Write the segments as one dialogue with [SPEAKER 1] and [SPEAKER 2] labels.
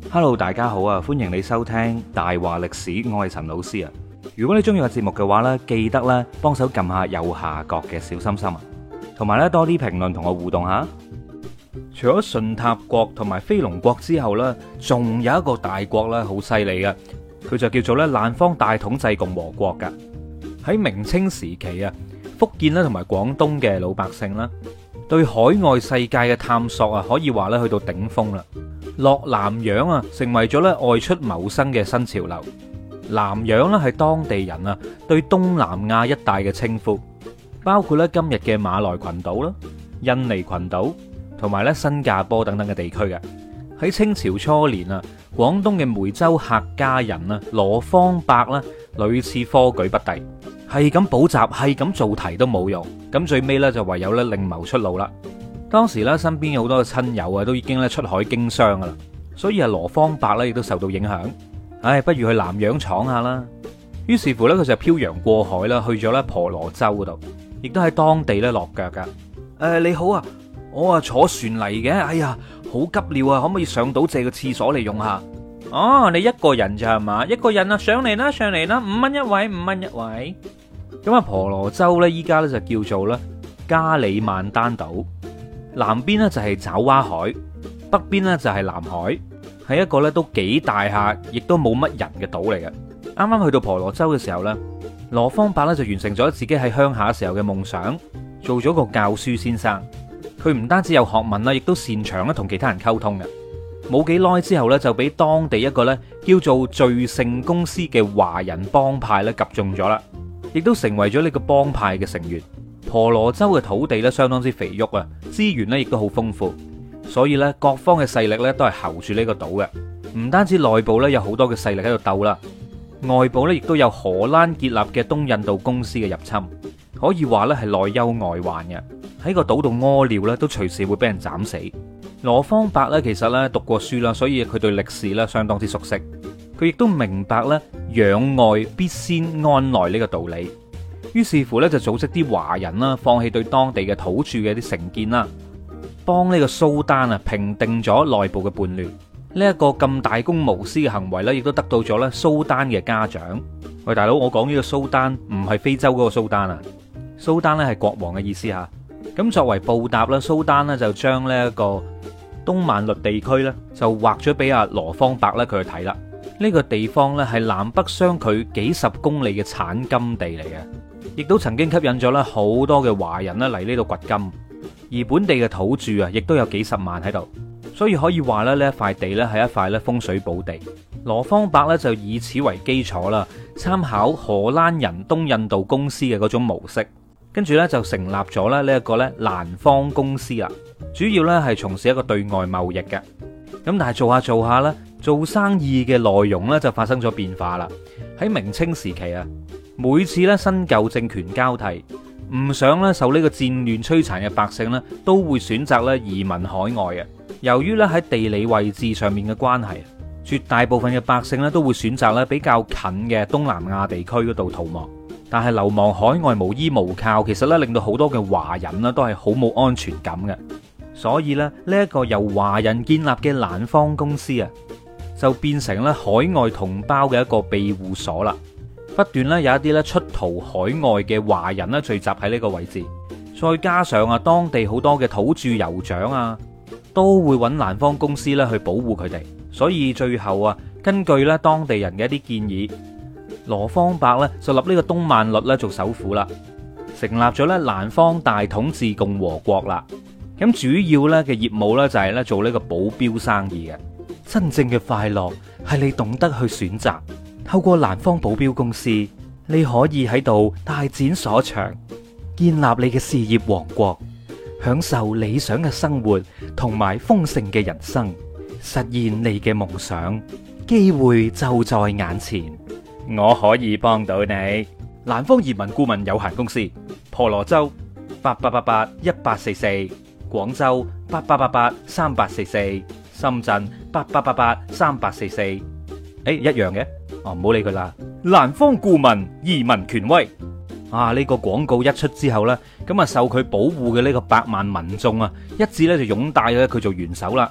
[SPEAKER 1] Hello，大家好啊！歡迎你收聽大話歷史，我係陳老師啊。如果你中意個節目嘅話呢，記得咧幫手撳下右下角嘅小心心啊，同埋咧多啲評論同我互動下。除咗順塔國同埋飛龍國之後呢，仲有一個大國咧好犀利嘅，佢就叫做咧南方大統制共和國噶。喺明清時期啊，福建咧同埋廣東嘅老百姓啦，對海外世界嘅探索啊，可以話咧去到頂峰啦。落南洋啊，成為咗咧外出謀生嘅新潮流。南洋咧係當地人啊對東南亞一帶嘅稱呼，包括咧今日嘅馬來群島啦、印尼群島同埋咧新加坡等等嘅地區嘅。喺清朝初年啊，廣東嘅梅州客家人啊羅芳伯啦，屢次科舉不第，係咁補習，係咁做題都冇用，咁最尾咧就唯有咧另謀出路啦。當時咧身邊有好多嘅親友啊，都已經咧出海經商噶啦，所以啊羅芳伯咧亦都受到影響。唉，不如去南洋闖下啦。於是乎咧，佢就漂洋過海啦，去咗咧婆羅洲嗰度，亦都喺當地咧落腳噶。你好啊，我啊坐船嚟嘅，哎呀，好急尿啊，可唔可以上島借個廁所嚟用下？哦，你一個人咋係嘛？一個人啊，上嚟啦，上嚟啦，5蚊一位，5蚊一位。咁啊，婆羅洲咧依家咧就叫做咧加里曼丹島。南邊咧就係爪哇海，北邊咧就係南海，係一個咧都幾大下，亦都冇乜人嘅島嚟嘅。啱啱去到婆羅洲嘅時候咧，羅芳伯咧就完成咗自己喺鄉下時候嘅夢想，做咗個教書先生。佢唔單止有學問啦，亦都擅長咧同其他人溝通嘅。冇幾耐之後咧，就俾當地一個咧叫做聚盛公司嘅華人幫派咧及中咗啦，亦都成為咗呢個幫派嘅成員。婆羅洲嘅土地咧相當之肥沃啊，資源咧亦都好豐富，所以咧各方嘅勢力咧都係候住呢個島嘅。唔單止內部咧有好多嘅勢力喺度鬥啦，外部咧亦都有荷蘭建立嘅東印度公司嘅入侵，可以話咧係內憂外患嘅。喺個島度屙尿咧都隨時會俾人斬死。羅芳伯咧其實咧讀過書啦，所以佢對歷史咧相當之熟悉，佢亦都明白咧攘外必先安內呢個道理。於是乎咧，就組織啲華人啦，放棄對當地嘅土著嘅啲成見啦，幫呢個蘇丹啊平定咗內部嘅叛亂。呢一個咁大公無私嘅行為咧，亦都得到咗咧蘇丹嘅嘉獎。喂，大佬，我講呢個蘇丹唔係非洲嗰個蘇丹啊，蘇丹咧係國王嘅意思吓。咁作為報答啦，蘇丹呢就將呢一個東萬律地區咧就劃咗俾阿羅芳伯咧佢去睇啦。呢個地方咧係南北相距幾十公里嘅產金地嚟嘅。亦都曾經吸引咗咧好多嘅華人咧嚟呢度掘金，而本地嘅土著啊，亦都有幾十萬喺度，所以可以話咧呢一塊地咧係一塊咧風水寶地。羅芳伯咧就以此為基礎啦，參考荷蘭人東印度公司嘅嗰種模式，跟住咧就成立咗咧呢一個咧南方公司啦，主要咧係從事一個對外貿易嘅。咁但係做下咧，做生意嘅內容咧就發生咗變化啦。喺明清時期啊，每次咧新舊政權交替，唔想咧受呢個戰亂摧殘嘅百姓咧，都會選擇咧移民海外嘅。由於咧喺地理位置上面嘅關係，絕大部分嘅百姓咧都會選擇咧比較近嘅東南亞地區嗰度逃亡。但係流亡海外無依無靠，其實咧令到好多嘅華人咧都係好冇安全感嘅。所以咧呢一個由華人建立嘅南方公司啊，就變成咧海外同胞嘅一個庇護所啦。不斷咧有一啲咧出逃海外嘅華人咧聚集喺呢個位置，再加上啊當地好多嘅土著酋長啊，都會揾南方公司咧去保護佢哋。所以最後啊，根據咧當地人嘅一啲建議，羅芳伯咧就立呢個東萬律咧做首府啦，成立咗咧南方大統治共和國啦。咁主要咧嘅業務咧就係咧做呢個保鏢生意嘅。真正嘅快樂係你懂得去選擇。透過南方保鏢公司，你可以喺度大展所長，建立你嘅事業王國，享受理想嘅生活同埋豐盛嘅人生，實現你嘅夢想。機會就在眼前，我可以幫到你。南方移民顧問有限公司，婆羅洲88881844，廣州88883844，深圳88883844。一樣嘅。哦，唔好理佢啦。南方顧問移民權威啊！呢個廣告一出之後呢，咁啊受佢保護嘅呢個百萬民眾啊，一致咧就擁戴咗佢做元首啦。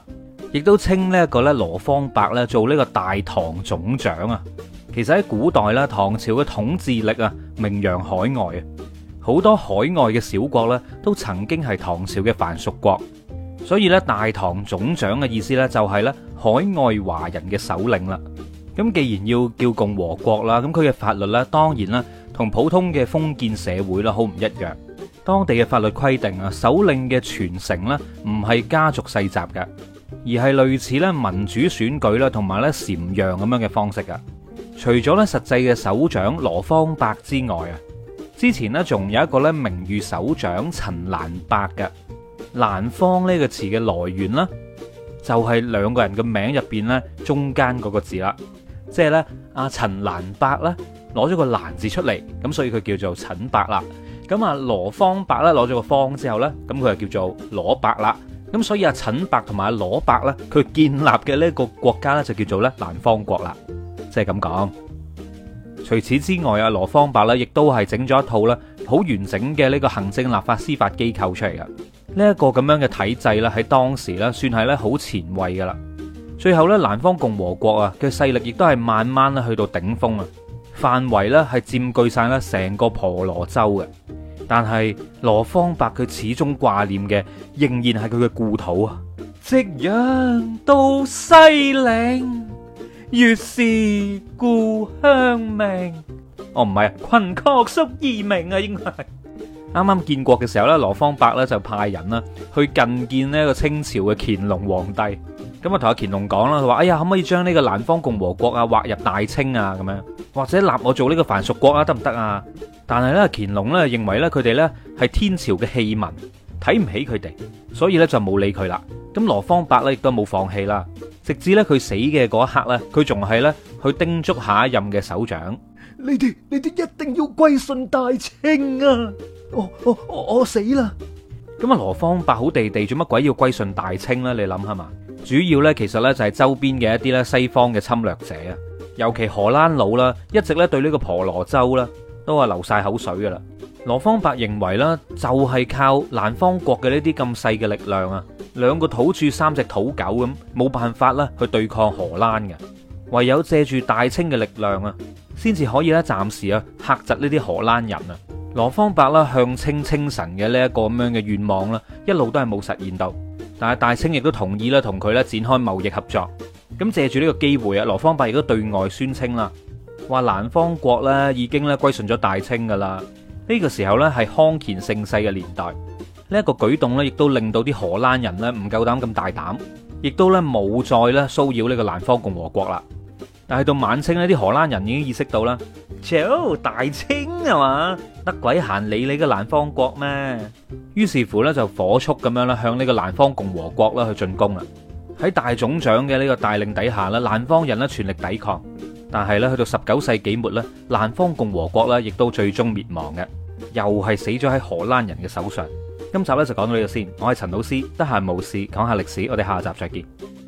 [SPEAKER 1] 亦都稱呢一個咧羅芳伯咧做呢個大唐總長啊。其實喺古代咧，唐朝嘅統治力啊名揚海外啊，好多海外嘅小國咧都曾經係唐朝嘅藩屬國。所以咧，大唐總長嘅意思咧就係咧海外華人嘅首領啦。咁既然要叫共和國啦，咁佢嘅法律咧當然啦同普通嘅封建社會啦好唔一樣。當地嘅法律規定啊，首領嘅傳承咧唔係家族世襲嘅，而係類似咧民主選舉啦，同埋咧禪讓咁樣嘅方式噶。除咗咧實際嘅首長羅芳伯之外啊，之前咧仲有一個咧名譽首長陳蘭伯嘅。蘭芳呢個詞嘅來源啦，就係兩個人嘅名入邊咧中間嗰個字啦，即係咧阿陳蘭伯咧攞咗個蘭字出嚟，咁所以佢叫做陳伯啦。咁啊羅芳伯咧攞咗個芳之後咧，咁佢就叫做羅伯啦。咁所以阿陳伯同埋阿羅伯咧，佢建立嘅呢個國家咧就叫做咧蘭芳國啦，即係咁講。除此之外，阿羅芳伯咧亦都係整咗一套咧好完整嘅呢個行政、立法、司法機構出嚟嘅。呢一個咁樣嘅體制咧，喺當時咧算係咧好前衛噶啦。最後咧，蘭芳共和國啊嘅勢力亦都係慢慢咧去到頂峰啊，範圍咧係佔據晒咧成個婆羅洲嘅。但係羅芳伯佢始終掛念嘅仍然係佢嘅故土啊。夕陽到西嶺，月是故鄉明。哦，唔係啊，群壑宿異名啊，應該係。啱啱建國嘅時候咧，羅芳伯咧就派人啦去覲見呢個清朝嘅乾隆皇帝，咁啊同阿乾隆講啦，佢話：哎呀，可唔可以將呢個蘭芳共和國啊劃入大清啊咁樣，或者立我做呢個藩屬國啊得唔得啊？但係咧乾隆咧認為咧佢哋咧係天朝嘅棄民，睇唔起佢哋，所以咧就冇理佢啦。咁羅芳伯咧亦都冇放棄啦，直至咧佢死嘅嗰一刻咧，佢仲係咧去叮囑下一任嘅首長：你哋一定要歸順大清啊！我死啦！咁啊，羅芳伯好地地做乜鬼要歸順大清呢？你諗下嘛？主要呢，其實呢，就係周邊嘅一啲咧西方嘅侵略者啊，尤其荷蘭佬啦，一直咧對呢個婆羅洲啦都係流晒口水噶啦。羅芳伯認為啦，就係靠蘭芳國嘅呢啲咁細嘅力量啊，兩個土著三隻土狗咁，冇辦法啦去對抗荷蘭嘅，唯有借住大清嘅力量啊，先至可以咧暫時啊嚇窒呢啲荷蘭人啊。羅芳伯啦向清稱臣嘅呢一個咁樣嘅願望啦，一路都係冇實現到。但係大清亦都同意啦，同佢咧展開貿易合作。咁借住呢個機會啊，羅芳伯亦都對外宣稱啦，話蘭芳國咧已經咧歸順咗大清噶啦。呢個時候咧係康乾盛世嘅年代，呢一個舉動咧亦都令到啲荷蘭人咧唔夠膽咁大膽，亦都咧冇再咧騷擾呢個蘭芳共和國啦。但係到晚清呢啲荷蘭人已經意識到啦，屌大清係嘛，得鬼閒理你嘅蘭芳國咩？於是乎咧就火速咁樣啦向呢個蘭芳共和國啦去進攻啦。喺大總長嘅呢個帶領底下咧，蘭芳人咧全力抵抗，但係咧去到19世紀末咧，蘭芳共和國咧亦都最終滅亡嘅，又係死咗喺荷蘭人嘅手上。今集咧就講到呢度先，我係陳老師，得閒無事講下歷史，我哋下集再見。